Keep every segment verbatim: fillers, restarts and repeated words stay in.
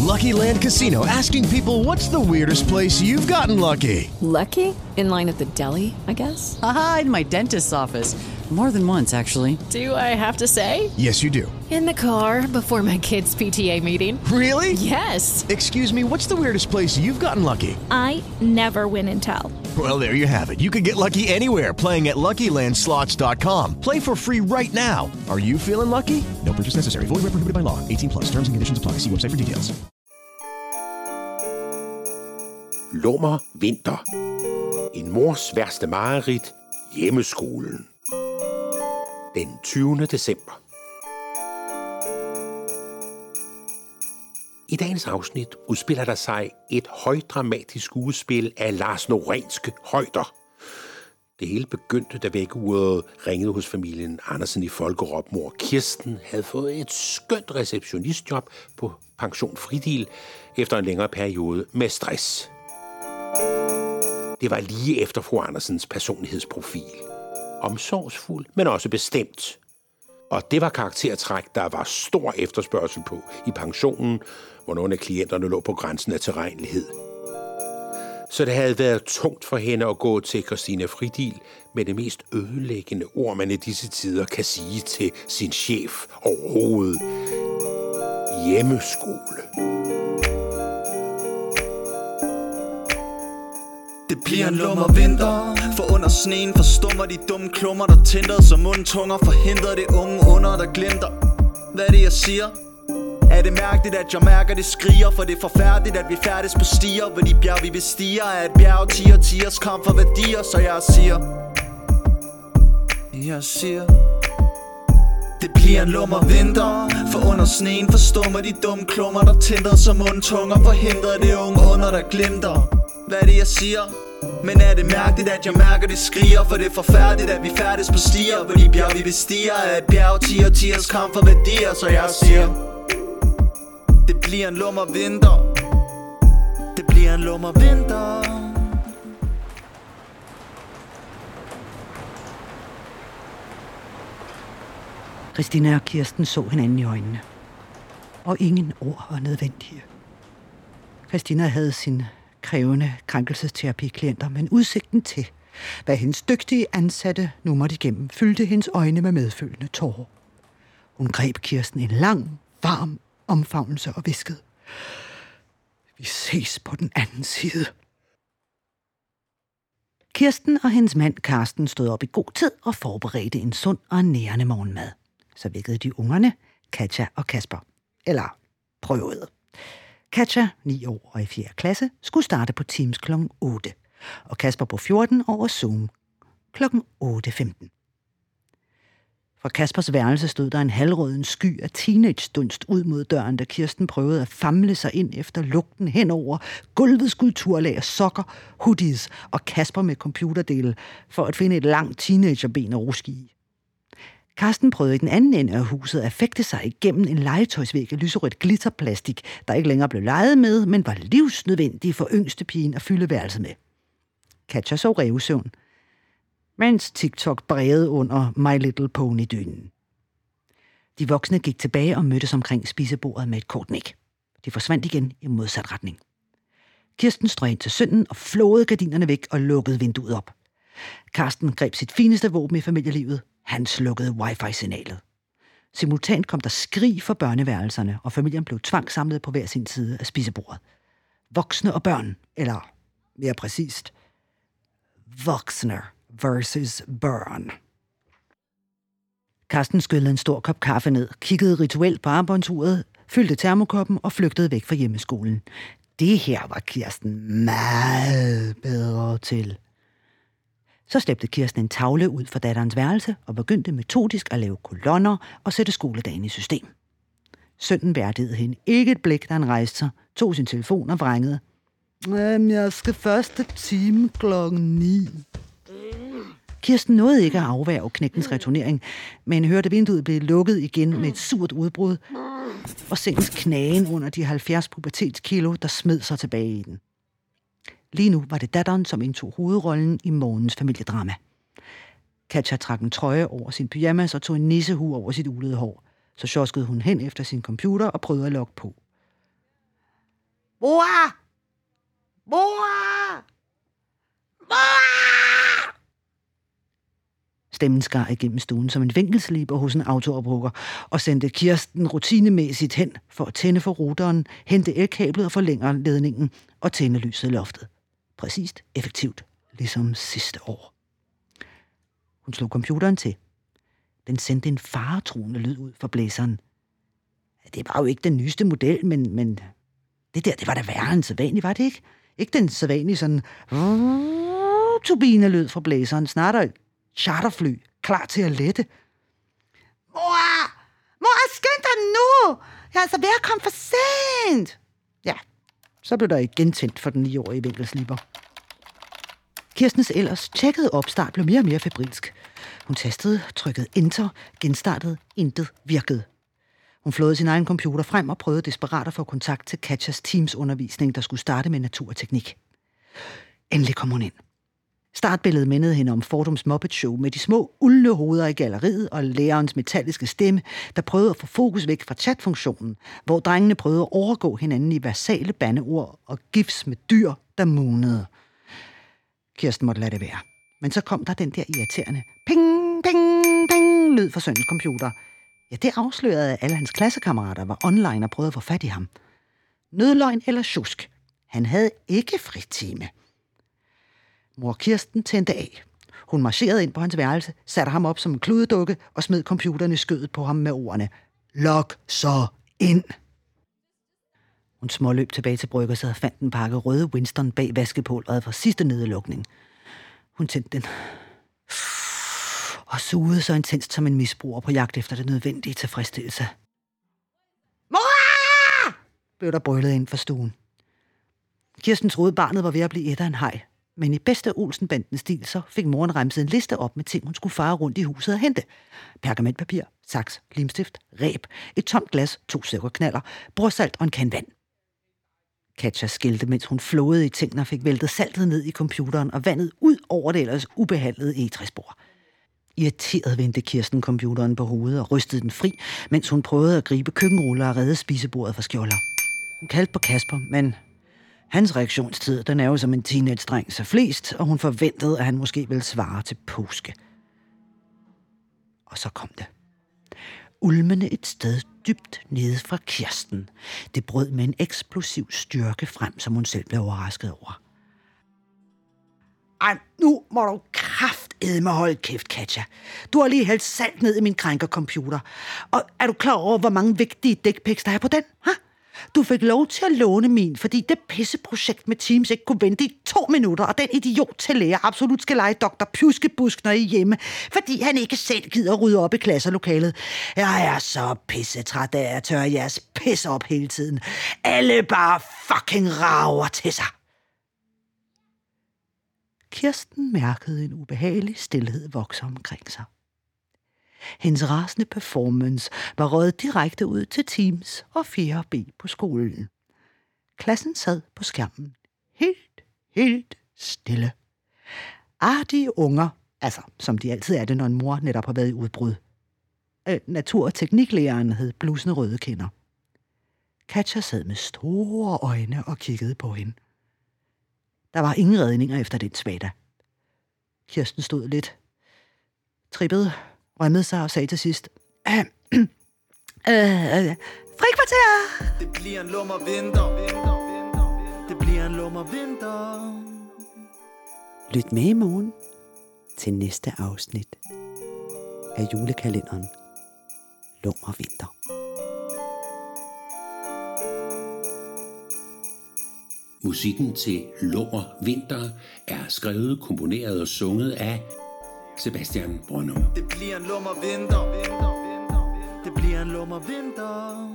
Lucky Land Casino, asking people, what's the weirdest place you've gotten lucky? Lucky? In line at the deli, I guess? Aha, in my dentist's office. More than once, actually. Do I have to say? Yes, you do. In the car before my kids' P T A meeting. Really? Yes. Excuse me, what's the weirdest place you've gotten lucky? I never win and tell. Well, there you have it. You can get lucky anywhere, playing at Lucky Land Slots dot com. Play for free right now. Are you feeling lucky? No purchase necessary. Void where prohibited by law. eighteen plus. Terms and conditions apply. See website for details. Lummer vinter. En mors værste mareridt. Hjemmeskolen. Den tyvende december. I dagens afsnit udspiller der sig et højdramatisk skuespil af Lars Norenske højder. Det hele begyndte, da vækkeuret ringede hos familien Andersen i Folkerop. Mor Kirsten havde fået et skønt receptionistjob på Pension Fridil efter en længere periode med stress. Det var lige efter fru Andersens personlighedsprofil. Omsorgsfuld, men også bestemt. Og det var karaktertræk, der var stor efterspørgsel på i pensionen, hvor nogle af klienterne lå på grænsen af tilregnelighed. Så det havde været tungt for hende at gå til Christine Fridil med det mest ødelæggende ord, man i disse tider kan sige til sin chef overhovedet. Hjemmeskole. Det bliver en lummer vinter, for under sneen forstummer de dumme klummer, der tænder som mundtunger, forhindrer det unge under, der glimter. Hvad er det, jeg siger? Er det mærkeligt, at jeg mærker, det skriger? For det er forfærdeligt, at vi færdes på stier, hvor de bjerg, vi bestiger, er et bjerg, tiger, tigers kamp for værdier. Så jeg siger, jeg siger, det bliver en lummer vinter, for under sneen forstummer de dumme klummer, der tænder som mundtunger, forhindrer det unge under, der glimter. Hvad er det, jeg siger? Men er det mærkeligt, at jeg mærker, det skriger? For det er forfærdeligt, at vi færdes på stier, hvor de bjerg, vi bestiger, er et bjerg, tiger, tigers kamp for værdier. Så jeg siger, det bliver en lummer vinter. Det bliver en lummer vinter. Christina og Kirsten så hinanden i øjnene. Og ingen ord var nødvendige. Christina havde sine krævende krænkelsesterapi-klienter, men udsigten til, hvad hendes dygtige ansatte nu måtte igennem, fyldte hendes øjne med medfølende tårer. Hun greb Kirsten en lang, varm omfavnelse og hviskede: vi ses på den anden side. Kirsten og hendes mand Karsten stod op i god tid og forberedte en sund og nærende morgenmad. Så vækkede de ungerne, Katja og Kasper. Eller prøvede. Katja, ni år og i fjerde klasse, skulle starte på Teams klokken otte, og Kasper på fjorten over Zoom klokken otte femten. Fra Kaspers værelse stod der en halvrøden sky af teenage-dunst ud mod døren, da Kirsten prøvede at famle sig ind efter lugten henover gulvets skulpturlag af sokker, hoodies og Kasper med computerdele for at finde et langt teenagerben at ruske i. Karsten prøvede i den anden ende af huset at fægte sig igennem en legetøjsvæg af lyserødt glitterplastik, der ikke længere blev leget med, men var livsnødvendig for yngstepigen at fylde værelset med. Katja sov rævesøvn, mens TikTok bredede under My Little Pony-dynen. De voksne gik tilbage og mødtes omkring spisebordet med et kort nik. De forsvandt igen i modsat retning. Kirsten strøg ind til sønnen og flåede gardinerne væk og lukkede vinduet op. Karsten greb sit fineste våben i familielivet. Han slukkede wifi-signalet. Simultant kom der skrig fra børneværelserne, og familien blev tvangssamlet på hver sin side af spisebordet. Voksne og børn, eller mere præcist, voksne versus børn. Karsten skyllede en stor kop kaffe ned, kiggede rituelt på armbåndsuret, fyldte termokoppen og flygtede væk fra hjemmeskolen. Det her var Kirsten meget bedre til. Så slæbte Kirsten en tavle ud fra datterens værelse og begyndte metodisk at lave kolonner og sætte skoledagen i system. Sønnen værdigede hende ikke et blik, da han rejste sig, tog sin telefon og vrængede. Jeg skal første time klokken ni. Kirsten nåede ikke at afværge knægtens returnering, men hørte vinduet blive lukket igen med et surt udbrud og sengens knagen under de halvfjerds pubertetskilo, der smed sig tilbage i den. Lige nu var det datteren, som indtog hovedrollen i morgens familiedrama. Katja trak en trøje over sin pyjamas og tog en nissehue over sit ulede hår. Så sjoskede hun hen efter sin computer og prøvede at logge på. Mor! Mor! Mor! Stemmen skar igennem stuen som en vinkelsliber hos en autooprukker og sendte Kirsten rutinemæssigt hen for at tænde for ruteren, hente elkablet og forlængere ledningen og tænde lyset i loftet. Præcist, effektivt, ligesom sidste år. Hun slog computeren til. Den sendte en faretruende lyd ud fra blæseren. Det var jo ikke den nyeste model, men, men det der, det var da værre end sædvanligt, var det ikke? Ikke den sædvanlige sådan turbinelyd fra blæseren, snarere et charterfly, klar til at lette. Mor! Mor, skynd dig nu! Jeg er altså ved at komme for sent! Ja, så blev der igen tændt for den niårige vinkelsliber. Kirstens ellers tjekkede opstart blev mere og mere febrilsk. Hun tastede, trykkede enter, genstartede, intet virkede. Hun flåede sin egen computer frem og prøvede desperat at få kontakt til Katjas Teams-undervisning, der skulle starte med natur og teknik. Endelig kom hun ind. Startbilledet mindede hende om Fordums Muppet Show med de små, uldne hoveder i galleriet og lærerens metalliske stemme, der prøvede at få fokus væk fra chatfunktionen, hvor drengene prøvede at overgå hinanden i versale bandeord og gifs med dyr, der munede. Kirsten måtte lade det være. Men så kom der den der irriterende ping, ping, ping lyd fra sønnens computer. Ja, det afslørede, at alle hans klassekammerater var online og prøvede at få fat i ham. Nødløgn eller sjusk. Han havde ikke fritime. Mor Kirsten tændte af. Hun marcherede ind på hans værelse, satte ham op som en kludedukke og smed computeren i skødet på ham med ordene: "Log så ind!" Hun småløb tilbage til bryggerset og fandt en pakke røde Winston bag vaskepulveret fra sidste nedlukning. Hun tændte den og sugede så intenst som en misbruger på jagt efter det nødvendige tilfredsstillelse. "Mor!" blev der brøllet ind for stuen. Kirsten troede, barnet var ved at blive et af en haj, men i bedste Olsen-banden-stil så fik moren remset en liste op med ting, hun skulle fare rundt i huset og hente. Pergamentpapir, saks, limstift, reb, et tomt glas, to sukkerknaller, brorsalt og en kan vand. Katja skilte, mens hun flåede i tingene og fik væltet saltet ned i computeren og vandet ud over det ellers ubehandlede egetræsbord. Irriteret vendte Kirsten computeren på hovedet og rystede den fri, mens hun prøvede at gribe køkkenruller og redde spisebordet fra skjolder. Hun kaldte på Kasper, men hans reaktionstid, den er jo som en teenage-dreng så flest, og hun forventede, at han måske ville svare til påske. Og så kom det. Ulmende et sted dybt nede fra Kirsten. Det brød med en eksplosiv styrke frem, som hun selv blev overrasket over. Ej, nu må du kraftedme holde kæft, Katja. Du har lige hældt salt ned i min krænkercomputer. Og er du klar over, hvor mange vigtige dickpics der er på den? Ha? Du fik lov til at låne min, fordi det pisseprojekt med Teams ikke kunne vente i to minutter, og den idiot til lærer absolut skal lege doktor Pjuskebusk, når I er hjemme, fordi han ikke selv gider rydde op i klasselokalet. Jeg er så pissetræt af at tørre jeres pisse op hele tiden. Alle bare fucking rager til sig. Kirsten mærkede en ubehagelig stilhed vokse omkring sig. Hendes rasende performance var røget direkte ud til Teams og fjerde B på skolen. Klassen sad på skærmen. Helt, helt stille. Artige unger, altså som de altid er det, når en mor netop har været i udbrud. Øh, natur- og tekniklæreren hed blusende røde kinder. Katja sad med store øjne og kiggede på hende. Der var ingen redninger efter den svada. Kirsten stod lidt, trippede, rømmede sig og sagde til sidst: øh, øh, frikvarter! Det bliver en lummer vinter. Det bliver en lummer vinter. Lyt med i morgen til næste afsnit af julekalenderen Lummer Vinter. Musikken til Lummer Vinter er skrevet, komponeret og sunget af Sebastian Brøndum. Det bliver en lummer vinter. Det bliver en lummer vinter.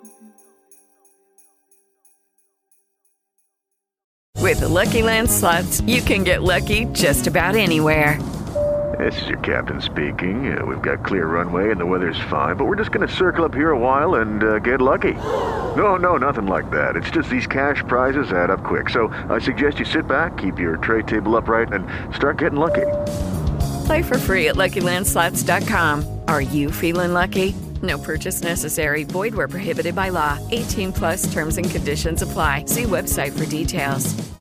With the Lucky Land Slots, you can get lucky just about anywhere. This is your captain speaking. Uh, we've got clear runway and the weather's fine, but we're just going to circle up here a while and uh, get lucky. No, no, nothing like that. It's just these cash prizes add up quick. So I suggest you sit back, keep your tray table upright, and start getting lucky. Play for free at Lucky Land Slots dot com. Are you feeling lucky? No purchase necessary. Void where prohibited by law. eighteen plus terms and conditions apply. See website for details.